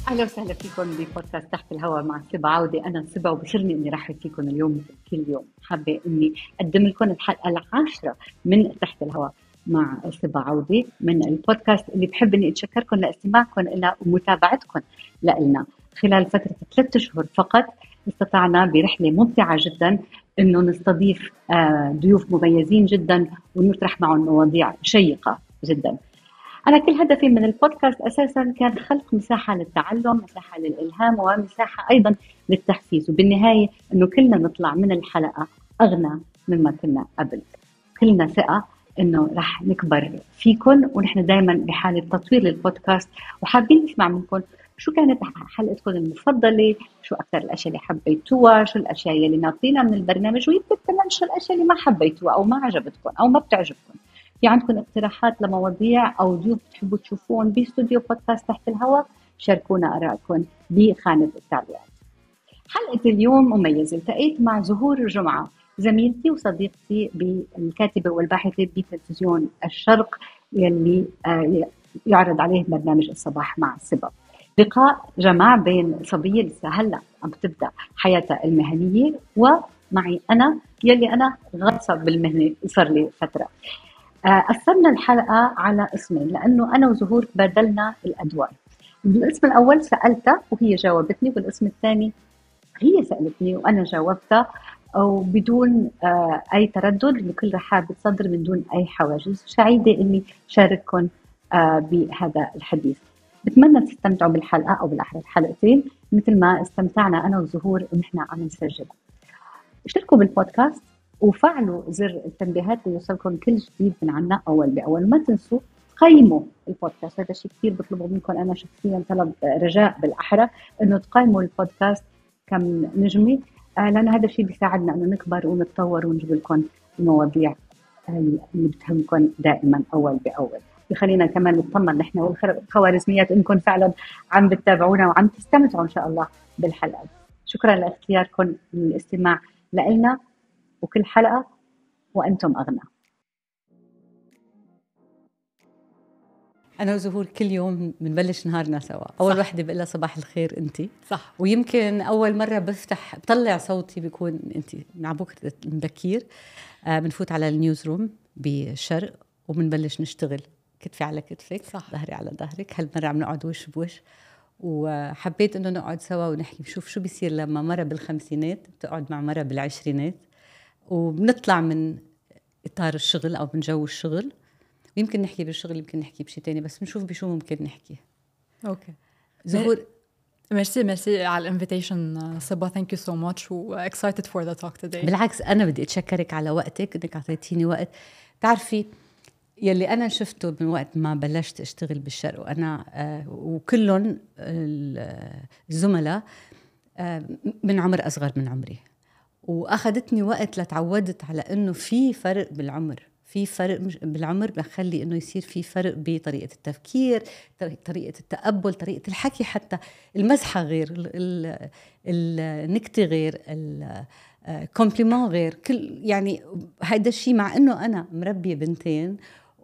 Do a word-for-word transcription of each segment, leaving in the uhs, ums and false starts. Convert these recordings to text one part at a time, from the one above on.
أهلا وسهلا فيكم ببودكاست تحت الهواء مع سبا عودة. أنا سبا وبشرني إني رحب فيكم اليوم مثل كل يوم. حابة إني أقدم لكم الحلقة العاشرة من تحت الهواء مع سبا عودة من البودكاست اللي بحب إني أتشكركم لاستماعكم لنا ومتابعتكم لنا خلال فترة ثلاثة أشهر فقط. استطعنا برحلة ممتعة جدا إنه نستضيف ضيوف مميزين جدا ونطرح معهم مواضيع شيقة جدا. أنا كل هدفي من البودكاست أساساً كان خلق مساحة للتعلم، مساحة للإلهام، ومساحة أيضاً للتحفيز، وبالنهاية إنه كلنا نطلع من الحلقة أغنى مما كنا قبل. كلنا ثقة إنه رح نكبر فيكم، ونحن دايماً بحالة تطوير للبودكاست، وحابين نسمع منكم شو كانت حلقتكم المفضلة، شو أكثر الأشياء اللي حبيتوها، شو الأشياء اللي ناطرينها من البرنامج، ويمكن كمان شو الأشياء اللي ما حبيتوها أو ما عجبتكم أو ما بتعجبكم. في عندكم اقتراحات لمواضيع أو ضيوف بتحبوا تشوفون باستوديو بودكاست تحت الهواء؟ شاركونا آرائكم بخانة التعليقات. حلقة اليوم مميزة، التقيت مع زهور جمعة، زميلتي وصديقتي بالكاتبة والباحثة بتلفزيون الشرق يلي يعرض عليه برنامج الصباح مع سبا. لقاء جمع بين صبية لسه هلا عم تبدأ حياتها المهنية ومعي أنا يلي أنا غطسة بالمهنة صار لي فترة. قسمنا الحلقة على اسمين لأنه أنا وزهور بدلنا الأدوار. بالاسم الأول سألتها وهي جاوبتني، والاسم الثاني هي سألتني وأنا جاوبتها، وبدون أي تردد، بكل رحاب صدر من دون أي حواجز. سعيدة إني شارككم بهذا الحديث. بتمنى تستمتعوا بالحلقة أو بالأحرى الحلقتين مثل ما استمتعنا أنا وزهور ونحن عم نسجل. اشتركوا بالبودكاست وفعلوا زر التنبيهات ليوصلكم كل جديد من عنا أول بأول. ما تنسوا قيموا البودكاست، هذا الشيء كثير بطلبه منكم. أنا شخصيا طلب رجاء بالأحرى إنه تقيموا البودكاست كم نجمة، لأن هذا الشيء بيساعدنا إنه نكبر ونتطور ونجيب لكم المواضيع اللي بتهمكم دائما أول بأول. بخلينا كمان نطمن نحن والخوارزميات إنكم فعلا عم بتتابعونا وعم تستمتعوا إن شاء الله بالحلقة. شكرا لاختياركم للاستماع لنا، وكل حلقة وأنتم أغنى. أنا وزهور كل يوم بنبلش نهارنا سوا. أول وحدة بقول لها صباح الخير أنتي، صح. ويمكن أول مرة بفتح بطلع صوتي بيكون أنتي مع بكرة بكير. آه بنفوت على النيوز روم بالشرق وبنبلش نشتغل كتفي على كتفك، صح. ظهري على ظهرك. هالمرة عم نقعد وش بوش، وحبيت إنه نقعد سوا ونحكي نشوف شو بيصير لما مرة بالخمسينات بتقعد مع مرة بالعشرينات، وبنطلع من إطار الشغل أو من جو الشغل. يمكن نحكي بالشغل، يمكن نحكي بشي تاني، بس نشوف بشو ممكن نحكي. اوكي زهور، ميرسي ميرسي على الانفيتيشن صبا. ثانك يو سو ماتش و excited for the talk today. بالعكس أنا بدي أتشكرك على وقتك، إنك أعطيتيني وقت. تعرفي يلي أنا شفته من وقت ما بلشت أشتغل بالشرق، وأنا آه وكلهم الزملاء آه من عمر أصغر من عمري، وأخذتني وقت لتعودت على إنه في فرق بالعمر، في فرق بالعمر بخلي إنه يصير في فرق بطريقة التفكير، طريقة التقبل، طريقة الحكي، حتى المزحة غير، النكتة غير، الكومبليمون غير. كل يعني هيدا الشيء مع إنه أنا مربية بنتين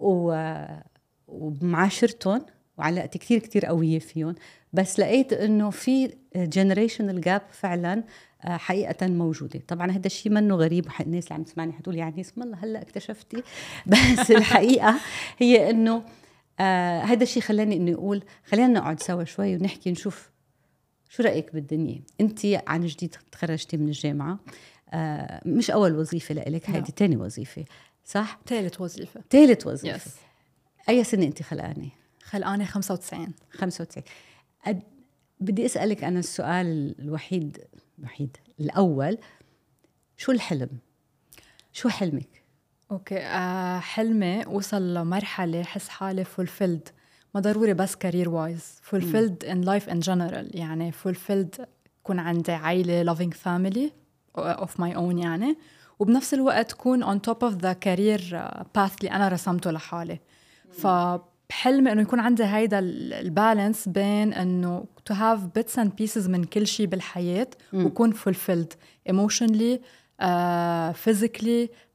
ومعاشرتهم وعلاقتي كتير كتير قوية فيهم، بس لقيت إنه في generational gap فعلاً حقيقة موجودة. طبعا هذا الشيء منه غريب، الناس اللي عم تسمعني حتقول يعني اسم الله هلأ اكتشفتي، بس الحقيقة هي انه آه هذا الشيء خلاني اني اقول خلينا نقعد سوا شوي ونحكي نشوف شو رأيك بالدنيا. انتي عن جديد تخرجتي من الجامعة، آه مش اول وظيفة لإلك، هذه تاني وظيفة صح؟ ثالث وظيفة. ثالث وظيفة. yes. اي سنة انتي خلقاني؟ خلقاني خمسة وتسعين. خمسة وتسعين. أد... بدي اسألك انا السؤال الوحيد الوحيد الأول، شو الحلم؟ شو حلمك؟ أوكي آه حلمي وصل لمرحلة حس حالي fulfilled، ما ضروري بس career wise، fulfilled in life in general. يعني fulfilled كون عندي عائلة loving family of my own يعني، وبنفس الوقت كون on top of the career path اللي أنا رسمته لحالي. ف بحلمي إنه يكون عندي هيدا البالانس بين إنه to have bits and pieces من كل شيء بالحياة، م. وكون fulfilled emotionally, uh, physically,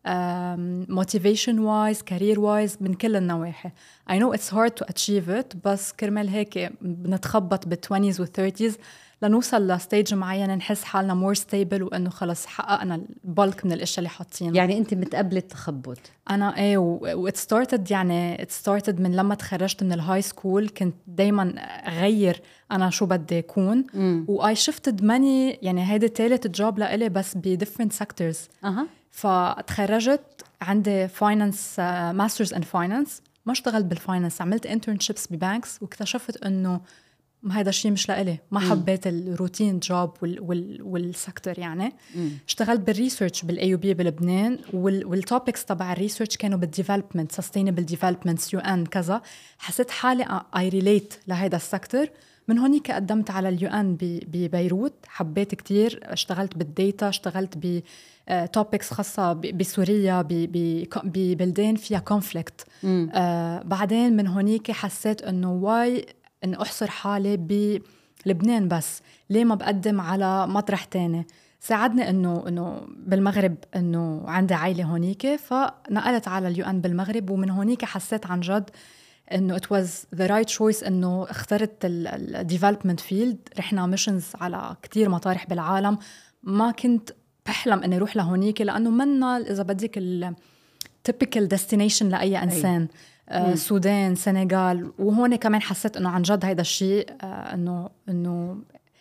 motivation wise career wise من كل النواحي. I know it's hard to achieve it بس كرمال هيك بنتخبط بالتوينيز والثيرتيز لنوصل لستيج معين نحس حالنا more stable وإنه خلص حققنا البلك من الأشياء اللي حاطينها. يعني أنت متقبلة التخبط؟ أنا إيه و it started يعني it started من لما تخرجت من الهاي سكول كنت دايما أغير أنا شو بدي أكون و I shifted many يعني هيدا تالت جوب لإلي بس ب different sectors. أها. فتخرجت عندي finance uh, masters in finance ما اشتغلت بالفاينانس عملت internships ببانكس واكتشفت إنه هذا الشيء مش لإلي ما مم. حبيت الروتين جوب وال وال والسكتور يعني مم. اشتغلت بالريسيرش بالاي يو بي بلبنان وال والتوبكس تبع الريسيرش كانوا بالديفلوبمنت سستينبل ديفلوبمنت يو ان كذا حسيت حالي اي ريليت لهذا السكتور من هونيك قدمت على اليو ان ببيروت حبيت كتير اشتغلت بالديتا اشتغلت ب توبكس خاصة بسوريا ببلدان فيها كونفليكت آه بعدين من هونيك حسيت انه واي إنه أحصر حالي بلبنان بس ليه ما بقدم على مطرح تاني. ساعدني إنه إنه بالمغرب إنه عندي عائلة هونيك فنقلت على اليو ان بالمغرب ومن هونيك حسيت عن جد إنه it was the right choice إنه اخترت ال development field. رحنا ميشنز على كتير مطارح بالعالم ما كنت بحلم إني أروح لهونيك لأنه منا إذا بدك ال typical destination لأي إنسان. آه السودان سنغال وهون كمان حسيت انه عن جد هيدا الشيء آه انه انه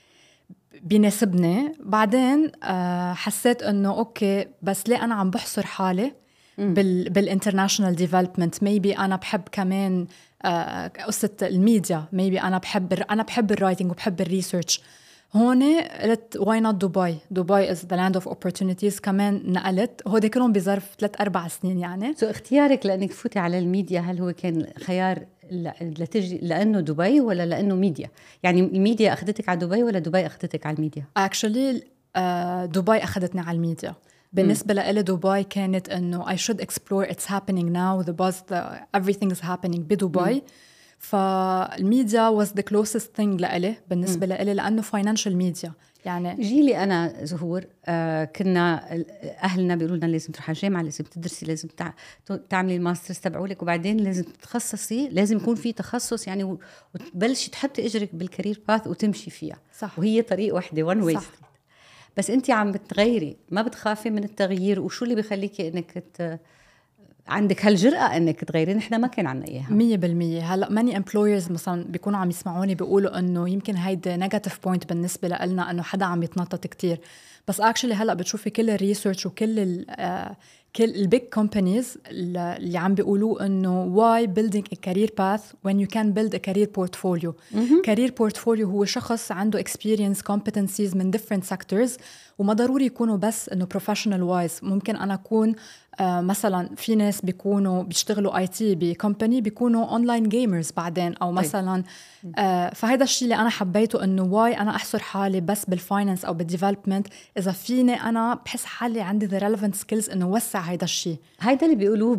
بيناسبني. بعدين آه حسيت انه اوكي بس ليه انا عم بحصر حالي بال بالانترناشونال ديفلوبمنت ميبي انا بحب كمان آه قصه الميديا ميبي انا بحب انا بحب الرايتنج وبحب الريسيرش. هون قلت واي نوت دبي دبي از ذا لاند اوف اوبورتونيتيز كمان نقلت هودي كلهم بظرف ثلاث اربع سنين يعني. سو اختيارك لانك تفوتي على الميديا هل هو كان خيار لتجي لانه دبي ولا لانه ميديا؟ يعني الميديا اخذتك على دبي ولا دبي اخذتك على الميديا؟ اكشلي uh, دبي اخذتني على الميديا. بالنسبة لإلي دبي كانت إنه I should explore it's happening now the buzz the everything is happening بدبي. فالميديا was the closest thing لإلي بالنسبة لإلي لأنه financial media يعني. جيلي أنا زهور آه كنا أهلنا بيقولوا لنا لازم تروحي الجامعة لازم تدرسي لازم تع... تعملي الماسترز تبعولك وبعدين لازم تتخصصي لازم يكون في تخصص يعني وتبلشي تحطي إجرك بالكارير باث وتمشي فيها صح. وهي طريق واحدة one way street. بس أنت عم بتغيري ما بتخافي من التغيير وشو اللي بيخليكي إنك ت... عندك هالجرأة انك تغيرين؟ احنا ما كان عنا اياها مية بالمية. هلا ماني امبلويرز مثلا بيكونوا عم يسمعوني بيقولوا انه يمكن هيدا نيجاتيف بوينت بالنسبه لنا انه حدا عم يتنطط كتير بس اكشلي هلا بتشوفي كل الريسيرش وكل ال uh, كل البيج كومبانيز اللي عم بيقولوا انه why building a career path when you can build a career portfolio. career portfolio هو شخص عنده experience competencies من different sectors وما ضروري يكونوا بس انه professional wise. ممكن انا اكون آه مثلا في ناس بيكونوا بيشتغلوا اي تي بكمباني بيكونوا اونلاين جيمرز بعدين او مثلا آه فهذا الشيء اللي انا حبيته انه واي انا احصر حالي بس بالفاينانس او بالديفلوبمنت اذا فيني انا بحس حالي عندي the relevant skills انه وسع هذا الشيء. هيدا اللي بيقولوه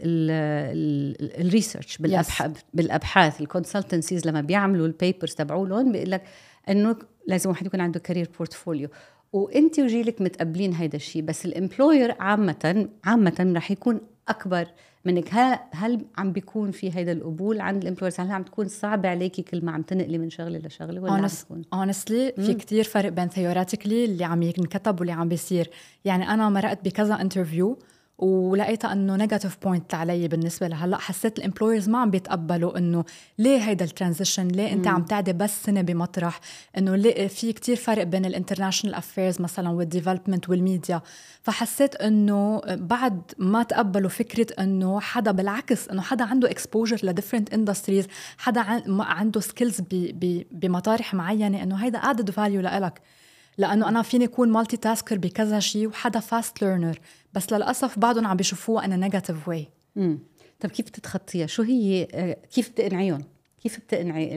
بالريسيرش بالابحاث yes. بالابحاث الكونسلتنسيز لما بيعملوا البيبرز تبعولهم بيقول لك انه لازم واحد يكون عنده كارير بورتفوليو وانت وجيلك متقبلين هيدا الشيء بس الامبلوير عامه عامه رح يكون اكبر منك. هل هل عم بيكون في هيدا القبول عند الامبلويرز؟ هل عم تكون صعبه عليكي كل ما عم تنقلي من شغله لشغله ولا عم تكون honestly في كتير فرق بين theoretically اللي عم ينكتب واللي عم بيصير. يعني انا مرقت بكذا انترفيو ولقيتها انه نيجاتيف بوينت علي بالنسبه لهلا. حسيت الامبلويرز ما عم بيتقبلوا انه ليه هيدا الترانزيشن ليه انت مم. عم تعدي بس سنه بمطرح انه في كتير فرق بين الانترناشونال افيرز مثلا والديفلوبمنت والميديا. فحسيت انه بعد ما تقبلوا فكره انه حدا بالعكس انه حدا عنده اكسبوجر لديفرنت اندستريز حدا عنده سكيلز بمطارح معينه انه هيدا ادد فاليو لإلك. لأنه أنا فيني أكون مالتي تاسكر بكذا شيء وحدا فاست ليرنر بس للأسف بعضهم عم بيشوفوها أنا نيجاتيف واي. طب كيف تتخطيها؟ شو هي كيف بتقنعيهم؟ كيف بتقنعي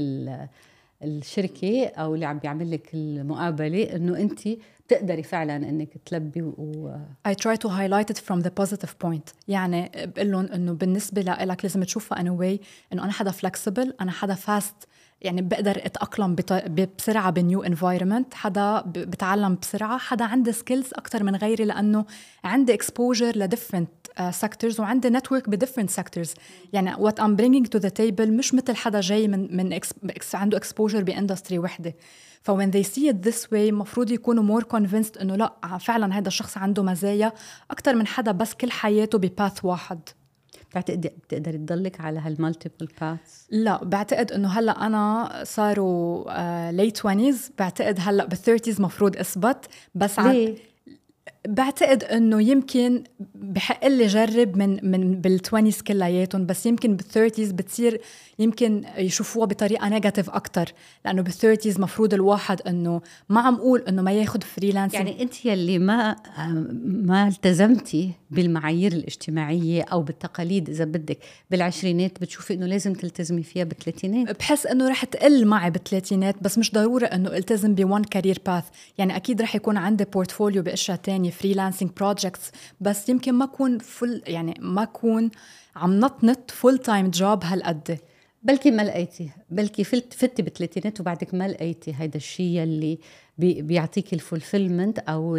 الشركة أو اللي عم بيعمل لك المقابلة إنه أنت بتقدري فعلا إنك تلبي و I try to highlight it from the positive point. يعني بقول لهم إنه بالنسبة لك لازم تشوفها أنا واي إنه أنا حدا flexible أنا حدا fast يعني بقدر اتاقلم بسرعه بنيو انفايرمنت، حدا بتعلم بسرعه، حدا عنده سكيلز اكثر من غيري لانه عندي اكسبوجر لديفرنت سيكتورز وعندي نتورك بديفرنت سيكتورز. يعني وات ام برينجينج تو ذا تيبل مش مثل حدا جاي من من إكس عنده اكسبوجر باندستري وحده. ف when they see it this way مفروض يكونوا more convinced انه لا فعلا هذا الشخص عنده مزايا اكثر من حدا بس كل حياته بباث واحد. بتعتقد بتقدر تضلك على هالمالتيبل باثs؟ لا بعتقد انه هلا انا صاروا ليت توينتيز، بعتقد هلا بالثيرتيز مفروض اثبت. بس ليه؟ بعتقد انه يمكن بحق لي جرب من من بالتوينتيز كلياتهم، بس يمكن بالثيرتيز بتصير يمكن يشوفوها بطريقه نيجاتيف اكثر، لانه بالثيرتيز مفروض الواحد انه ما عم اقول انه ما ياخذ فريلانس. يعني انت يلي ما ما التزمتي بالمعايير الاجتماعيه او بالتقاليد اذا بدك بالعشرينات، بتشوفي انه لازم تلتزمي فيها بالثلاثينات؟ بحس انه رح تقل معي بالثلاثينات، بس مش ضروري انه التزم بوان كارير باث. يعني اكيد رح يكون عندي بورتفوليو باشياء تانية فريلانسينج بروجكتس، بس يمكن ما اكون فل يعني ما اكون عم نطنط فول تايم جوب هالقد. بلكي ما لقيتي، بلكي فلت فتي بالثلاثينات وبعدك ما لقيتي هيدا الشيء يلي بي بيعطيك الفولفيلمنت او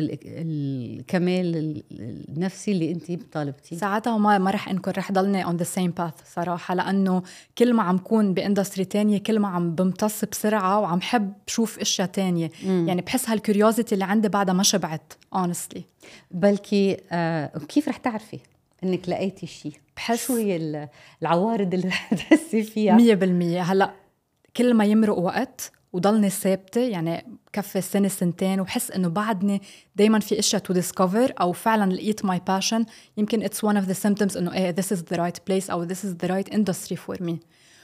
الكمال النفسي اللي انت طالبتيه. ساعتها ما ما رح انكر رح ضلني on the same path صراحه، لانه كل ما عم كون باندستري تانية كل ما عم بمتص بسرعه وعم حب شوف اشياء تانية. مم. يعني بحس هالكوريوزيتي اللي عندي بعدها ما شبعت honestly. بلكي آه كيف رح تعرفي انك لقيتي شيء؟ بحس شو هي العوارض اللي رح تحسي فيها؟ مية بالمية. هلا كل ما يمرق وقت وضلني ثابته، يعني كفي سنه سنتين وحس انه بعدني دايما في اشياء تو ديسكفر او فعلا لقيت ماي باشن، يمكن اتس one of the symptoms انه ايه this is the right place او this is the right industry for me.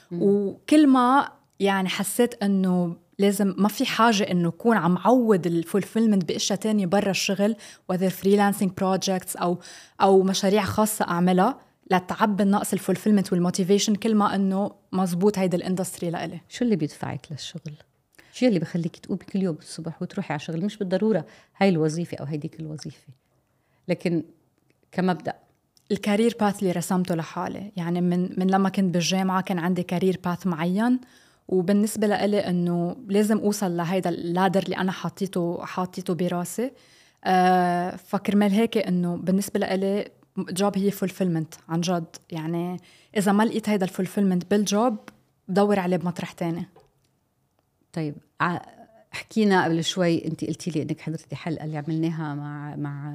وكل ما يعني حسيت انه لازم ما في حاجة إنه أكون عم عوض الفولفيلمنت بأشياء تانية برا الشغل whether freelancing projects أو أو مشاريع خاصة أعملها لتعبي النقص الفولفيلمنت والموتيفيشن، كل ما إنه مزبوط هيدا الاندستري لإلي. شو اللي بيدفعك للشغل؟ شو اللي بخليك تقومي كل يوم الصبح وتروحي على الشغل؟ مش بالضرورة هاي الوظيفة أو هيديك الوظيفة، لكن كمبدأ الكارير باث اللي رسمته لحالي. يعني من من لما كنت بالجامعة كان عندي كارير باث معين، وبالنسبة لإلي إنه لازم أوصل لهيدا اللادر اللي أنا حاطيته حاطيته براسي. أه فكرمال هيك إنه بالنسبة لإلي جوب هي فولفيلمنت عن جد. يعني إذا ما لقيت هيدا الفولفيلمنت بالجوب بدور عليه بمطرح تاني. طيب حكينا قبل شوي، أنت قلتي لي إنك حضرتي حلقة اللي عملناها مع مع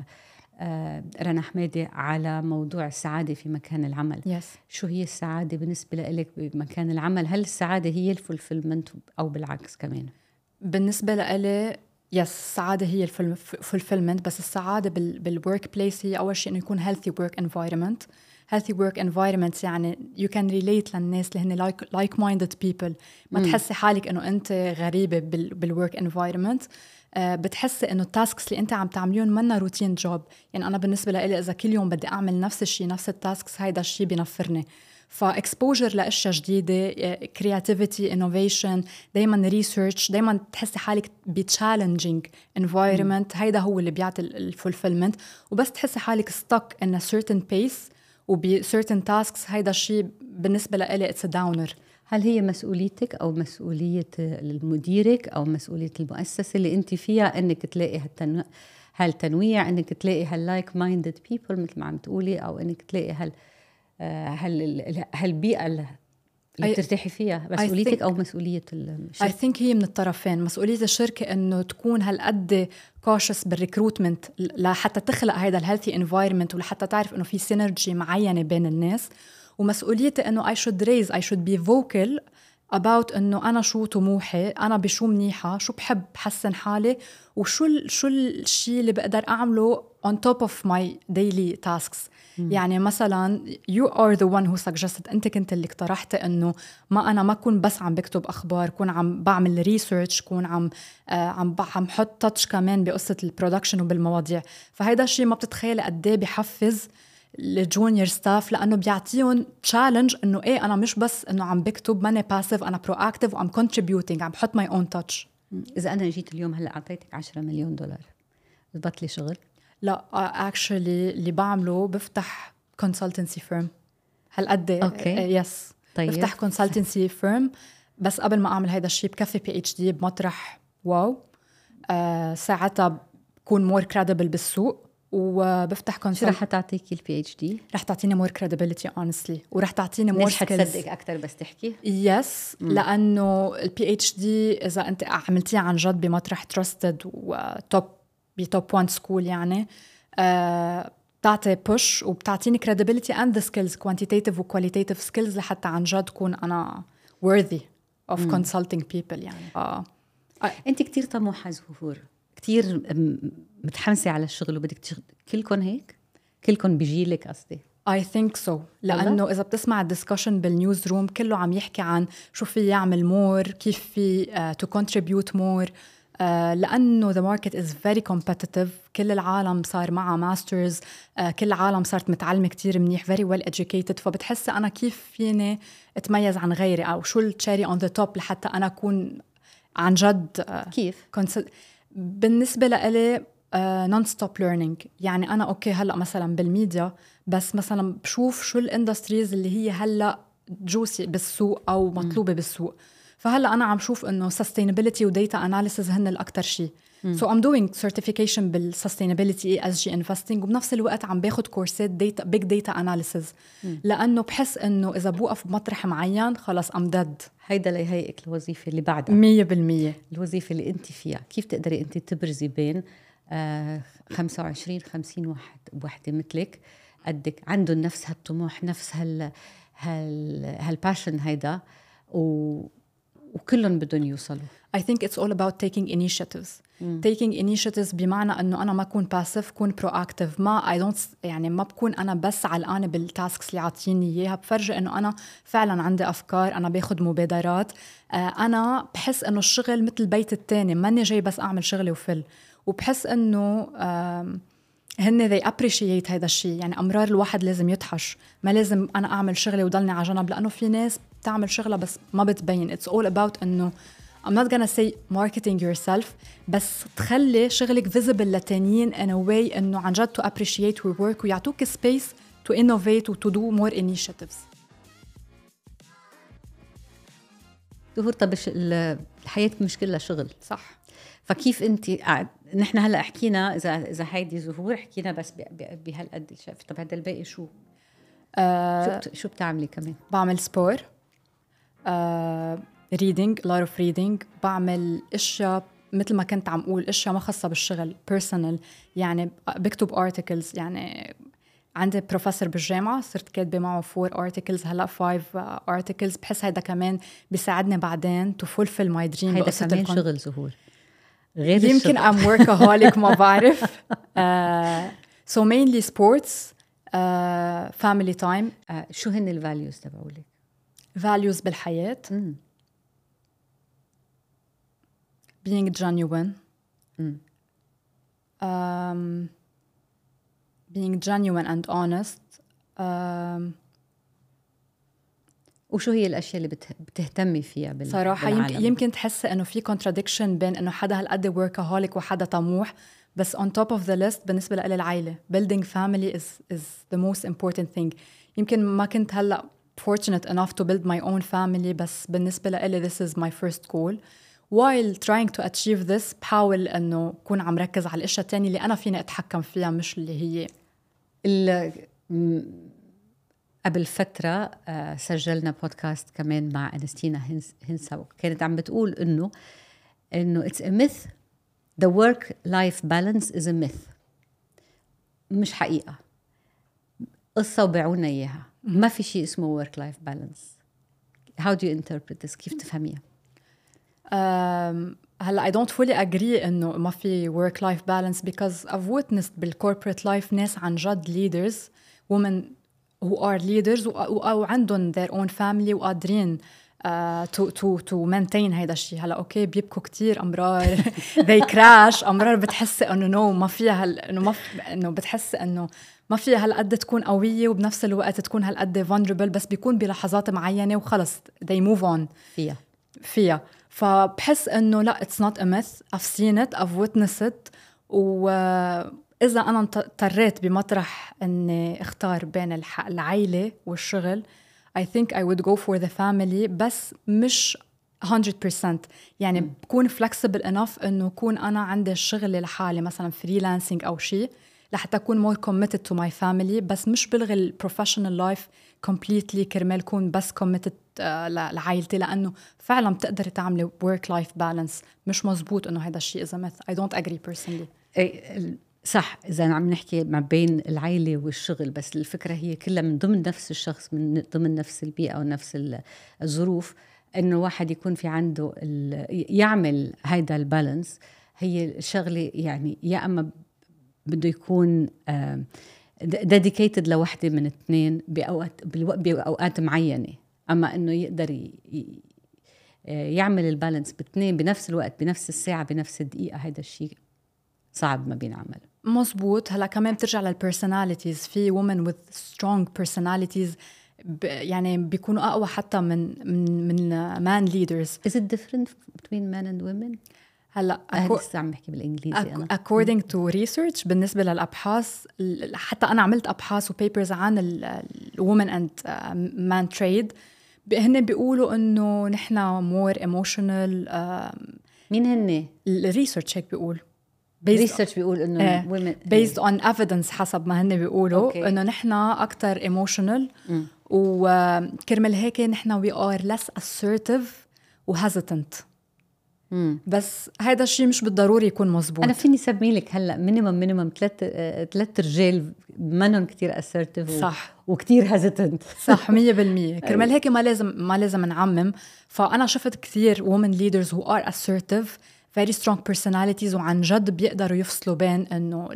رنا حمادي على موضوع السعادة في مكان العمل. yes. شو هي السعادة بالنسبة لك بمكان العمل؟ هل السعادة هي الفولفيلمنت أو بالعكس كمان؟ بالنسبة لي يس السعادة هي الفولفيلمنت، بس السعادة بالورك بليس هي أول شيء إنه يكون healthy work environment. healthy work environment يعني you can relate للناس اللي هن like, like minded people. ما م. تحسي حالك إنه أنت غريبة بالwork environment. أه بتحسي إنه التاسكس اللي أنت عم تعمليون منا روتين جوب. يعني أنا بالنسبة لي إذا كل يوم بدي أعمل نفس الشيء نفس التاسكس هيدا الشيء بينفرني. فاكسبوجر لاشياء جديده، كرياتيفيتي، انوفيشن، دائما ريسيرش، دائما تحسي حالك بتشالنجينج انفايرمنت. هيدا هو اللي بيعطي الفولفيلمنت. وبس تحسي حالك ستك ان سيرتن بيس وبسيرتن تاسكس، هيدا الشيء بالنسبه لي اتس داونر. هل هي مسؤوليتك او مسؤوليه المديرك او مسؤوليه المؤسسه اللي انت فيها انك تلاقي هالتنويع هالتنويع انك تلاقي هاللايك مايندد بيبل مثل ما عم تقولي، او انك تلاقي هال هل هالبيئة اللي بترتاحي فيها؟ مسؤوليتك أو مسؤولية الشركة؟ I think هي من الطرفين. مسؤولية الشركة إنه تكون هالقد cautious بالريكروتمنت لحتى تخلق هيدا الهيلثي انفايرمنت ولحتى تعرف إنه في سينرجي معينة بين الناس. ومسؤوليتي إنه I should raise I should be vocal about إنه أنا شو طموحي، أنا بشو منيحة، شو بحب حسن حالي، وشو ال شو الشيء اللي بقدر أعمله on top of my daily tasks. م. يعني مثلا you are the one who suggested، أنت كنت اللي اقترحت إنه ما أنا ما كون بس عم بكتب أخبار، كون عم بعمل ريسيرش، كون عم آه عم عم حط تاتش كمان بقصة البرودكشن وبالمواضيع. فهيدا الشيء ما بتتخيل قد إيه بحفز الجونيور ستاف، لأنه بيعطيهم تشالنج إنه إيه أنا مش بس إنه عم بكتب، ماني باسيف، أنا proactive وعم contributing، عم بحط my own touch. إذا أنا جيت اليوم هلأ أعطيتك عشرة مليون دولار بضبط لي شغل؟ لا actually اللي بعمله بفتح consultancy firm. هالقد أوكي. يس. طيب. بفتح consultancy firm بس قبل ما أعمل هيدا الشيء بكفي بي اتش دي بمطرح واو. آه ساعتها بكون مور كريديبل بالسوق وبفتح كونسل. شو رح تعطيكي البي اتش دي؟ رح تعطيني مور كريديبيليتي honestly، ورح تعطيني مور سكيلز. حتصدق اكثر بس تحكي يس yes, لانه البي اتش دي اذا انت عملتيها عن جد بمطرح تراستد وتوب بتوب وان سكول يعني آه بتعطي بوش وبتعطيني credibility and the skills quantitative و qualitative skills لحتى عن جد كون انا worthy of مم. consulting people يعني. آه. آه. انت كتير طموحة زهور، كتير متحمسة على الشغل وبدك تشغل. كلكم هيك؟ كلكم بيجيلك قصدي؟ I think so. لأنه إذا بتسمع الدسكشن بالنيوز روم كله عم يحكي عن شو في يعمل مور، كيف في uh, to contribute more. uh, لأنه the market is very competitive. كل العالم صار معها ماسترز، uh, كل العالم صارت متعلمة كتير منيح very well educated. فبتحس أنا كيف فيني أتميز عن غيري أو شو التشيري on the top لحتى أنا أكون عن جد uh, كيف؟ كونسل... بالنسبة لإلي نون ستوب ليرنينج. يعني أنا أوكي هلأ مثلا بالميديا بس مثلا بشوف شو الاندستريز اللي هي هلأ جوسي بالسوق أو مطلوبة م. بالسوق. فهلأ أنا عم شوف إنه sustainability و data analysis هن الأكتر شيء. so I'm doing certification بال sustainability إي إس جي investing وبنفس الوقت عم باخد كورسات data big data analysis م. لأنه بحس إنه إذا بوقف بمطرح معين خلاص I'm dead. هيدا ليهيئك الوظيفة اللي بعدها مية بالمية. الوظيفة اللي أنت فيها. كيف تقدري أنت تبرزي بين آه خمسة وعشرين خمسين واحد وحدة مثلك قدك عندهم نفس هالطموح، نفس هال هال هالباشن هيدا و... وكلهم بدهم يوصلوا. I think it's all about taking initiatives. mm. taking initiatives بمعنى أنه أنا ما أكون passive، كون proactive. ما I don't يعني ما بكون أنا بس علقانة بالتاسكس اللي عاطيني إياها. بفرجي أنه أنا فعلا عندي أفكار، أنا باخد مبادرات. آه أنا بحس أنه الشغل مثل البيت التاني، ماني جاي بس أعمل شغلي وفل. وبحس أنه هن they appreciate هيدا الشيء. يعني أمرار الواحد لازم يتحش، ما لازم أنا أعمل شغلي وضلني على جنب، لأنه في ناس بتعمل شغلة بس ما بتبين. It's all about أنه I'm not gonna say marketing yourself، بس تخلي شغلك visible لتانيين in a way أنه عن جد to appreciate your work ويعطوك space to innovate و to do more initiatives. ظهور طب الحياة مش كلها شغل صح. فكيف انت نحن هلا حكينا اذا اذا هيدي ظهور حكينا بس بهالقد الشاف. طب هذا الباقي شو آه شو, بت... شو بتعملي كمان؟ بعمل سبور، آه reading a lot of reading. بعمل اشياء مثل ما كنت عم اقول اشياء ما خاصه بالشغل personal. يعني بكتب articles. يعني عندي بروفيسور بالجامعة صرت كاتبة معه four articles هلأ five articles. بحس هيدا كمان بيساعدني بعدين to fulfill my dream. هيدا كمان شغل ظهور غير يمكن I'm workaholic ما بعرف. uh, so mainly sports, uh, family time. uh, شو هن ال values تبعولك؟ values بالحياة mm. being genuine. mm. um, being genuine and honest. um, وشو هي الأشياء اللي بتهتمي فيها بال... صراحة يمكن, يمكن تحس إنه في contradiction بين إنه حدا هالقد workaholic وحدا طموح. بس on top of the list بالنسبة لي العائلة. building family is, is the most important thing. يمكن ما كنت هلأ fortunate enough to build my own family بس بالنسبة لي this is my first goal. while trying to achieve this بحاول إنه كون عم ركز على الأشياء التانية اللي أنا فيني أتحكم فيها مش اللي هي ال... قبل فترة سجلنا بودكاست كمان مع أنستينا هنسا وكانت عم بتقول إنه إنه it's a myth the work life balance is a myth. مش حقيقة، قصة وبيعونا إياها. ما في شيء اسمه work life balance. how do you interpret this؟ كيف تفهميها؟ um, هلا I don't fully agree إنه ما في work life balance because I've witnessed بالcorporate life ناس عن جد leaders women who are leaders وعندهم their own family وقادرين uh, to, to, to maintain هيدا الشيء. هلا أوكي بيبكوا كتير أمرار they crash. أمرار بتحس إنه no ما فيها هال إنه ما ف... إنه بتحس إنه ما فيها هالقد تكون قوية وبنفس الوقت تكون هالقد vulnerable. بس بيكون بلحظات معينة وخلص they move on فيها فيها. فبحس إنه لا it's not a myth. I've seen it, I've witnessed it. و إذا أنا اضطريت بمطرح أني اختار بين العائلة والشغل I think I would go for the family. بس مش مية بالمية. يعني م. بكون flexible enough إنه كون أنا عندي الشغل لحالي مثلا freelancing أو شيء لحتى أكون more committed to my family، بس مش بلغي ال professional life completely كرمال كون بس committed uh, لعائلتي، لأنه فعلا بتقدري تعملي work life balance. مش مزبوط إنه هذا الشيء إذا myth. I don't agree personally. أي صح، إذا عم نحكي ما بين العائلة والشغل، بس الفكرة هي كلها من ضمن نفس الشخص، من ضمن نفس البيئة ونفس الظروف، إنه واحد يكون في عنده يعمل هيدا البالانس. هي الشغلة يعني يا أما بده يكون dedicated لوحدة من اثنين بأوقات بأوقات معينة، أما إنه يقدر يعمل البالانس باثنين بنفس الوقت بنفس الساعة بنفس الدقيقة، هيدا الشيء صعب ما بينعمل. مزبوط. هلا كمان بترجع للبرسوناليتيز. في women with strong personalities يعني بيكونوا أقوى حتى من من من man leaders. Is it different between men and women؟ هلا لسه عم بحكي بالإنجليزي أنا. according to research بالنسبة للأبحاث، حتى أنا عملت أبحاث وبيبرز عن ال women and man trade، هن بيقولوا إنه نحن more emotional. مين هن؟ الريسيرش هيك بيقول. ريسيرش بيقول إنه uh, women based on evidence حسب ما هن بيقولوا okay. إنه نحن أكتر emotional mm. وكرمال هيك نحن we are less assertive و hesitant. mm. بس هذا الشيء مش بالضروري يكون مزبوط. أنا فيني سمي لك هلأ مينيمم مينيمم ثلاث ثلاث رجال منهم كتير assertive صح و... وكتير hesitant. صح مية بالمية. كرمال هيك ما لازم ما لازم نعمم. فأنا شفت كثير women leaders who are assertive very strong personalities وعن جد بيقدروا يفصلوا بين إنه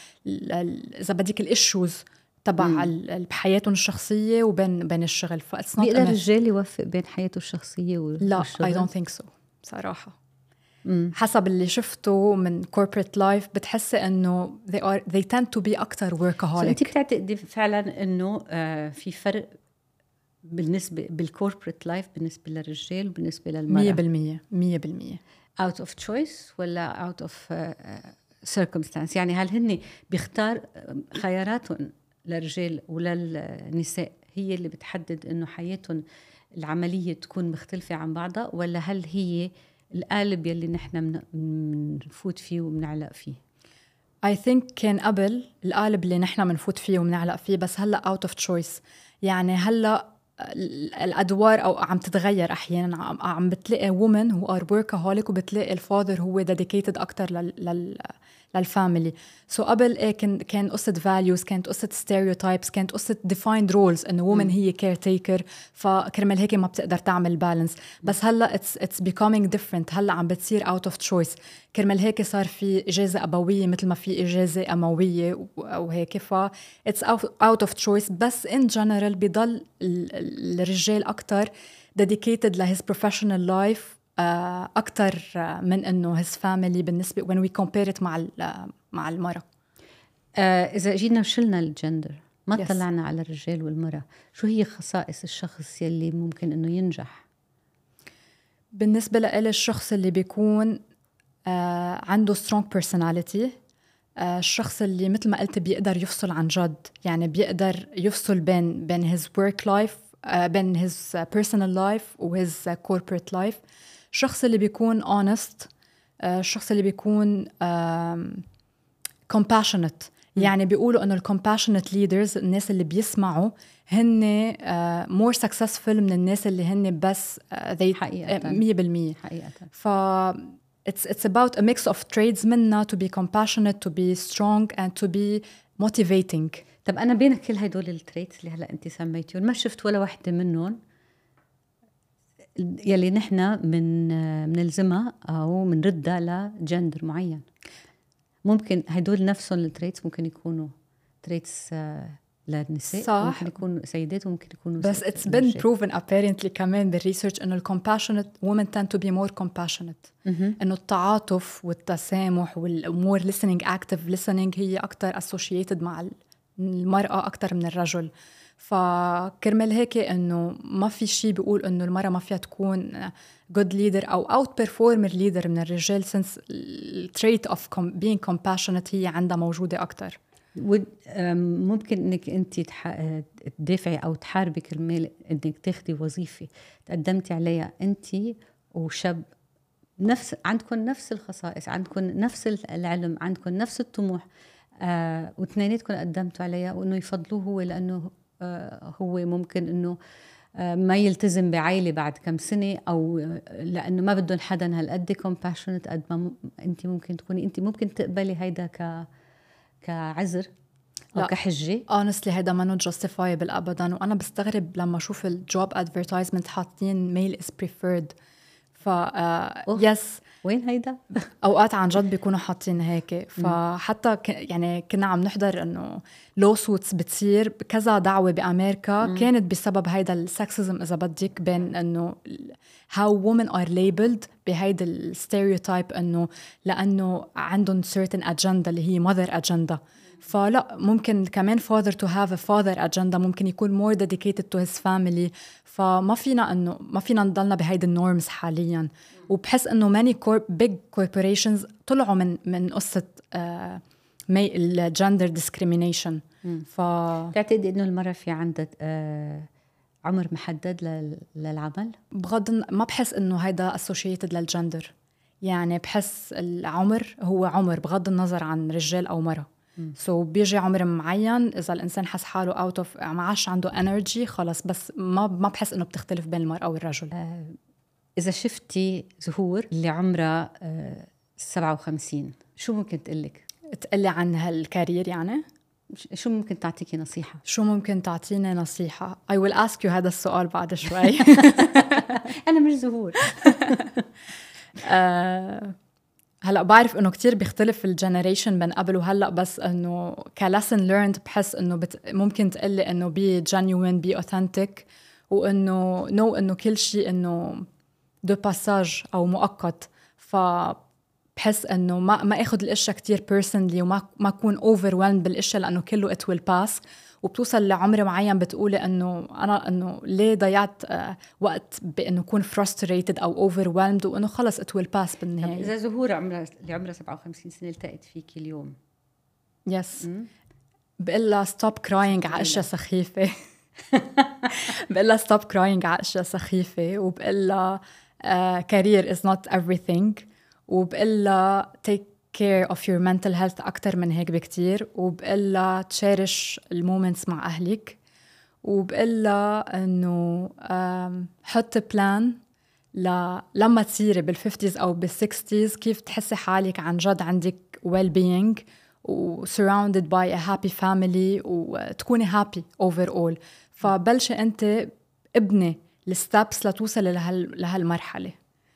إذا بديك الإشوز تبع بحياتهم الشخصية وبين بين الشغل. فإتس بيقدر الرجال يوفق بين حياته الشخصية والشغل؟ لا I don't think so صراحة. مم. حسب اللي شفته من corporate life بتحسي إنه they are they tend to be أكتر workaholic. أنت بتعتقدي فعلا إنه آه في فرق بالنسبة بالcorporate life بالنسبة للرجال وبالنسبة للمرأة؟ مية بالمية مية بالمية. out of choice ولا out of uh, circumstance؟ يعني هل هن بيختار خياراتهم للرجال وللنساء هي اللي بتحدد إنه حياتهم العملية تكون مختلفة عن بعضها، ولا هل هي القالب يلي نحن منفوت فيه ومنعلق فيه؟ I think كان قبل القالب اللي نحن منفوت فيه ومنعلق فيه، بس هلأ out of choice. يعني هلأ الأدوار أو عم تتغير أحياناً. عم بتلاقي women who are workaholic وبتلاقي الفاذر هو dedicated أكتر لل لل للفاميلي. سو so قبل إيه كان كان قصة values، كانت قصة stereotypes، كانت قصة defined roles إنه woman هي caretaker، فكرمال هيك ما بتقدر تعمل balance. بس هلا it's it's becoming different. هلا عم بتصير out of choice. كرمال هيك صار في إجازة أبوية مثل ما في إجازة أموية أو هيك، ف it's out of choice. بس in general بيضل الرجال أكتر dedicated ل his professional life أكتر من إنه his family بالنسبة when we compare it مع مع المرأة. آه إذا جينا وشلنا الجندر ما yes. طلعنا على الرجال والمرأة، شو هي خصائص الشخص يلي ممكن إنه ينجح؟ بالنسبة لإلي الشخص اللي بيكون آه عنده strong personality، آه الشخص اللي مثل ما قلت بيقدر يفصل عن جد، يعني بيقدر يفصل بين بين his work life آه بين his personal life و his corporate life. الشخص اللي بيكون honest، آه الشخص اللي بيكون آه compassionate. يعني بيقولوا إنه ال compassionate leaders الناس اللي بيسمعوا هن uh, more successful من الناس اللي هن بس uh, they حقيقة مية بالمية حقيقة. ف it's it's about a mix of traits منا to be compassionate, to be strong and to be motivating. طب أنا بين كل هدول التريتس اللي هلا أنت سميتيهم ما شفت ولا واحدة منهم يلي نحنا من منلزمها أو منردها لجندر معين. ممكن هدول نفسهم التريتس ممكن يكونوا تريتس للنساء، صح. ممكن يكونوا سيدات وممكن يكونوا بس it's been proven apparently كمان بالريسيرش إنه compassionate women tend to be more compassionate. إنه التعاطف والتسامح والمور listening active listening هي أكتر associated مع المرأة أكتر من الرجل. فكرمال هيك إنه ما في شيء بيقول إنه المرأة ما فيها تكون good leader أو out performer leader من الرجال since the trait of being compassionate هي عندها موجودة أكتر. ممكن إنك أنت تدافعي أو تحاربي كرمال إنك تاخدي وظيفة تقدمتي عليها أنت وشاب نفس عندكم نفس الخصائص، عندكم نفس العلم، عندكم نفس الطموح، آه واثنيناتكم قدمتوا عليها، وانه يفضلوه هو لانه آه هو ممكن انه آه ما يلتزم بعائله بعد كم سنه، او آه لانه ما بدهم حدا هالقد كومباشنت قد ما م... انت ممكن تكوني انت ممكن تقبلي هيدا ك كعذر او لا. كحجه. honestly هيدا ما justifiable ابدا، وانا بستغرب لما اشوف الجوب ادفرتايزمنت حاطين ميل از بريفيرد. ف يس وين هيدا؟ اوقات عن جد بيكونوا حاطين هيك. فحتى ك... يعني كنا عم نحضر انه لو سوتس بتصير كذا دعوه بامريكا مم. كانت بسبب هيدا السكسزم اذا بدك، بين انه how women are labeled بهيدا الستيريوتايب، انه لانه عندهم certain agenda اللي هي mother agenda. فلا ممكن كمان father to have a father agenda، ممكن يكون more dedicated to his family. فما فينا انه ما فينا نضلنا بهيدا النورمز حاليا. وبحس انه many big corporations طلعوا من من قصه آه الجندر ديسكريمينيشن. ف تعتقد انه المراه في عندها آه عمر محدد للعمل؟ بغض ما بحس انه هيدا associated للجندر، يعني بحس العمر هو عمر بغض النظر عن رجال او مرأة. سو so بيجي عمر معين اذا الانسان حس حاله اوت اوف ما عادش عنده انرجي خلص، بس ما ما بحس انه بتختلف بين المرأة والرجل. آه اذا شفتي زهور اللي عمرها آه سبعة وخمسين شو ممكن تقلك؟ تقلي عن هالكارير يعني؟ شو ممكن تعطيكي نصيحة؟ شو ممكن تعطيني نصيحة؟ I will ask you هذا السؤال بعد شوي. أنا مش زهور. آه هلأ بعرف إنه كتير بيختلف الجنريشن بين قبل وهلأ، بس إنه كلسن learned بحس إنه بت... ممكن تقلي إنه be genuine be authentic، وإنه no إنه كل شيء إنه de passage أو مؤقت. ف بحس انه ما ما اخذ الاشياء كتير بيرسونلي، وما ما اكون overwhelmed بالاشياء لانه كله it will pass. وبتوصل لعمر معين بتقولي انه انا انه ليه ضيعت آه وقت بانه اكون frustrated او overwhelmed، وانه خلص it will pass بالنهايه. اذا زهور عمرها اللي عمرها سبعة وخمسين سنه التقت فيكي اليوم، يس بقول لها stop crying على اشياء سخيفه. بقول لها stop crying على اشياء سخيفه، وبقول لها uh, career is not everything، وبقلها take care of your mental health أكتر من هيك بكتير، وبقلها تشارش المومنتس مع أهلك، وبقلها إنه حط بلان ل... لما تصيري بالفيفتيز أو بالسكستيز كيف تحسي حالك عن جد عندك well-being و surrounded by a happy family وتكوني happy overall. فبلشي أنت ابني الستابس لتوصلي لهال... لهالمرحلة.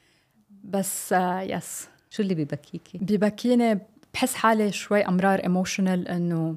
بس يس. شو اللي بيبكيكي؟ بيبكيني بحس حالي شوي أمرار emotional، إنه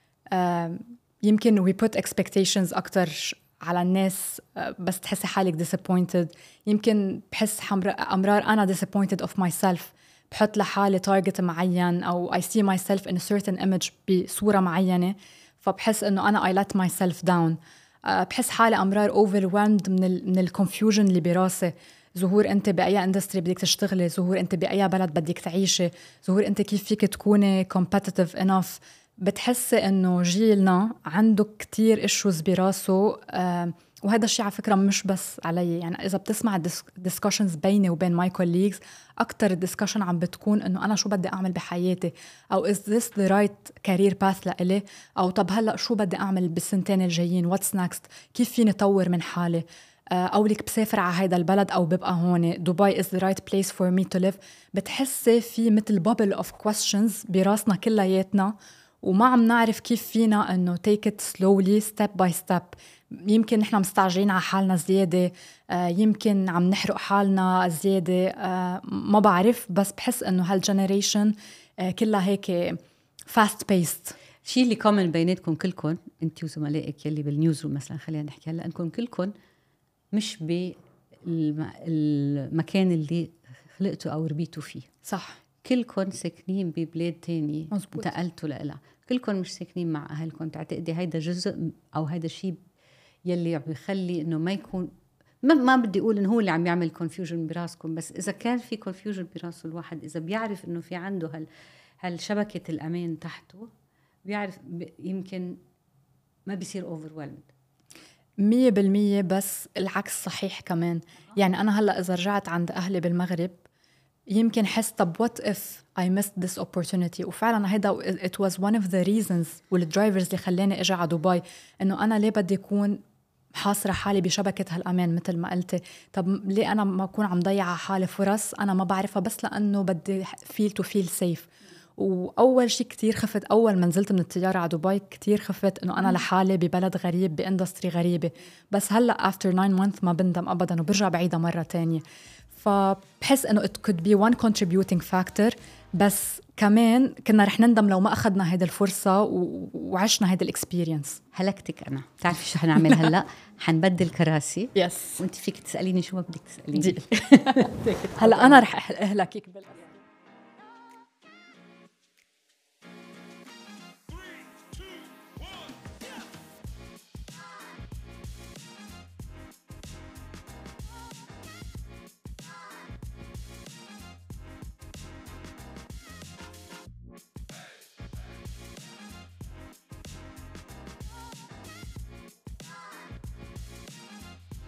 يمكن we put expectations أكتر على الناس بس تحسي حالك disappointed. يمكن بحس أمرار أنا disappointed of myself، بحط لحالي target معين أو I see myself in a certain image بصورة معينة، فبحس إنه أنا I let myself down. بحس حالي أمرار overwhelmed من ال من الconfusion اللي براسي. زهور انت باي اندستري بدك تشتغلي، زهور انت باي بلد بدك تعيشي، زهور انت كيف فيك تكوني competitive enough. بتحسي انه جيلنا عنده كتير issues براسه، آه وهذا الشيء على فكره مش بس علي. يعني اذا بتسمع discussions بيني وبين my colleagues، اكتر الدiscussion عم بتكون انه انا شو بدي اعمل بحياتي، او is this the right career path لإلي، او طب هلا شو بدي اعمل بالسنتين الجايين what's next، كيف فيني اطور من حالي، أو لك بسافر على هيدا البلد أو ببقى هون، دبي is the right place for me to live. بتحسي في مثل bubble of questions براسنا كلياتنا، وما عم نعرف كيف فينا أنه take it slowly step by step. يمكن نحن مستعجلين على حالنا زيادة، يمكن عم نحرق حالنا زيادة، ما بعرف. بس بحس أنه هالجنريشن كلها هيك fast paced. شيء اللي common بيناتكم كلكم انت وزملائك يلي بالنيوزروم مثلا، خلينا نحكي هلا، انكم كلكم مش بالمكان اللي خلقتوا أو ربيتوا فيه. صح. كلكم ساكنين ببلاد تاني مزبوط. انتقلتوا لها، كلكم مش ساكنين مع أهلكم. تعتقدي هيدا جزء أو هيدا الشيء يلي بيخلي إنه ما يكون ما, ما بدي أقول إنه هو اللي عم يعمل confusion براسكم، بس إذا كان في confusion براسه الواحد، إذا بيعرف إنه في عنده هال هالشبكة الأمان تحته، بيعرف يمكن ما بيصير overwhelmed. مية بالمية، بس العكس صحيح كمان. يعني أنا هلأ إذا رجعت عند أهلي بالمغرب يمكن حس طب what if I missed this opportunity. وفعلا هيدا it was one of the reasons والدرايفرز اللي خلاني أجي على دبي، إنه أنا ليه بدي أكون حاصرة حالي بشبكة هالأمان مثل ما قلتي. طب ليه أنا ما أكون عم ضيع حالي فرص أنا ما بعرفها بس لأنه بدي feel to feel safe. وأول شيء كتير خفت أول ما نزلت من الطيارة على دبي، كتير خفت إنه أنا لحالي ببلد غريب باندستري غريبة، بس هلأ after nine months ما بندم أبداً وبرجع بعيدة مرة تانية. فبحس إنه it could be one contributing factor، بس كمان كنا رح نندم لو ما أخذنا هيدا الفرصة و... وعشنا هيدا الإكسبيرينس. هلكتك أنا. بتعرفي شو حنعمل هلأ؟ حنبدل كراسي يس وانت فيك تسأليني شو ما بدك تسأليني. هلأ أنا رح أهلكك بالأسف.